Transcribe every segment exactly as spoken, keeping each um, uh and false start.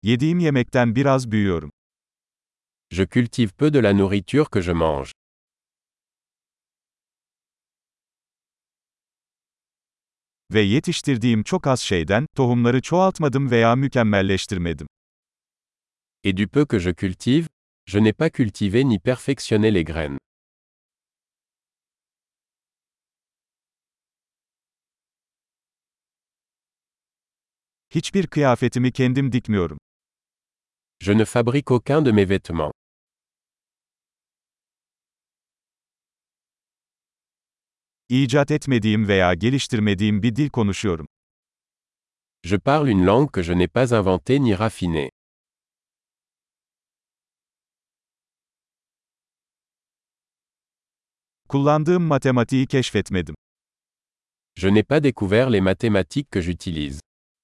Yediğim yemekten biraz büyüyorum. Je cultive peu de la nourriture que je mange. Ve yetiştirdiğim çok az şeyden, tohumları çoğaltmadım veya mükemmelleştirmedim. Et du peu que je cultive, je n'ai pas cultivé ni perfectionné les graines. Hiçbir kıyafetimi kendim dikmiyorum. Je ne fabrique aucun de mes vêtements. İcat etmediğim veya geliştirmediğim bir dil konuşuyorum. Je parle une langue que je n'ai pas inventée ni raffinée. Kullandığım matematiği keşfetmedim. Je n'ai pas découvert les mathématiques que j'utilise.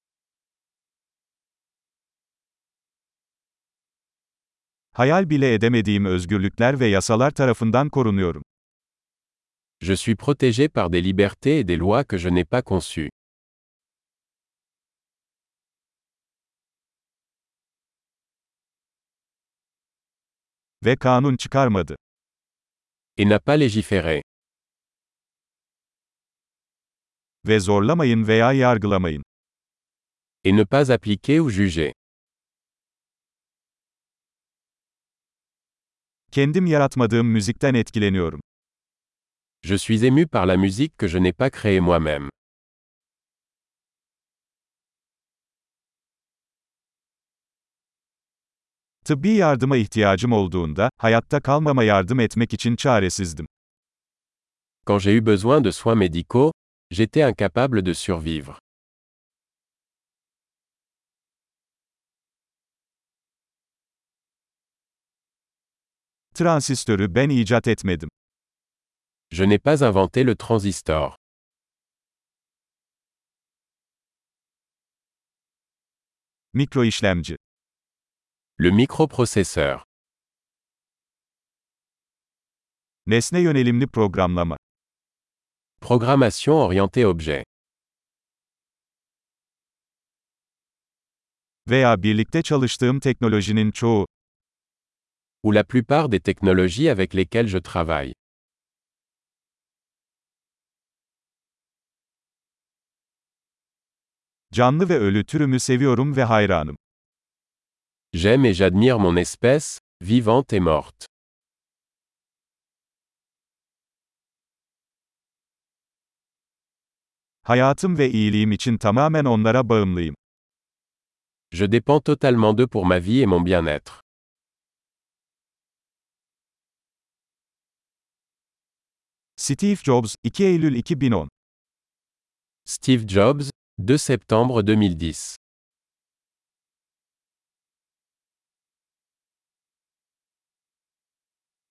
Hayal bile edemediğim özgürlükler ve yasalar tarafından korunuyorum. Je suis protégé par des libertés et des lois que je n'ai pas conçues. Ve kanun çıkarmadı. Et n'a pas légiféré. Ve zorlamayın veya yargılamayın. Et ne pas appliquer ou juger. Kendim yaratmadığım müzikten etkileniyorum. Je suis ému par la musique que je n'ai pas créée moi-même. Tıbbi yardıma ihtiyacım olduğunda, hayatta kalmama yardım etmek için çaresizdim. Quand j'ai eu besoin de soins médicaux, j'étais incapable de survivre. Transistörü ben icat etmedim. Je n'ai pas inventé le transistor. Mikroişlemci. Le microprocesseur. Nesne yönelimli programlama. Programmation orientée objet. Veya birlikte çalıştığım teknolojinin çoğu. Ou la plupart des technologies avec lesquelles je travaille. Canlı ve ölü türümü seviyorum ve hayranım. J'aime et j'admire mon espèce, vivante et morte. Hayatım ve iyiliğim için tamamen onlara bağımlıyım. Je dépends totalement d'eux pour ma vie et mon bien-être. Steve Jobs, iki Eylül iki bin on. Steve Jobs, deux septembre deux mille dix.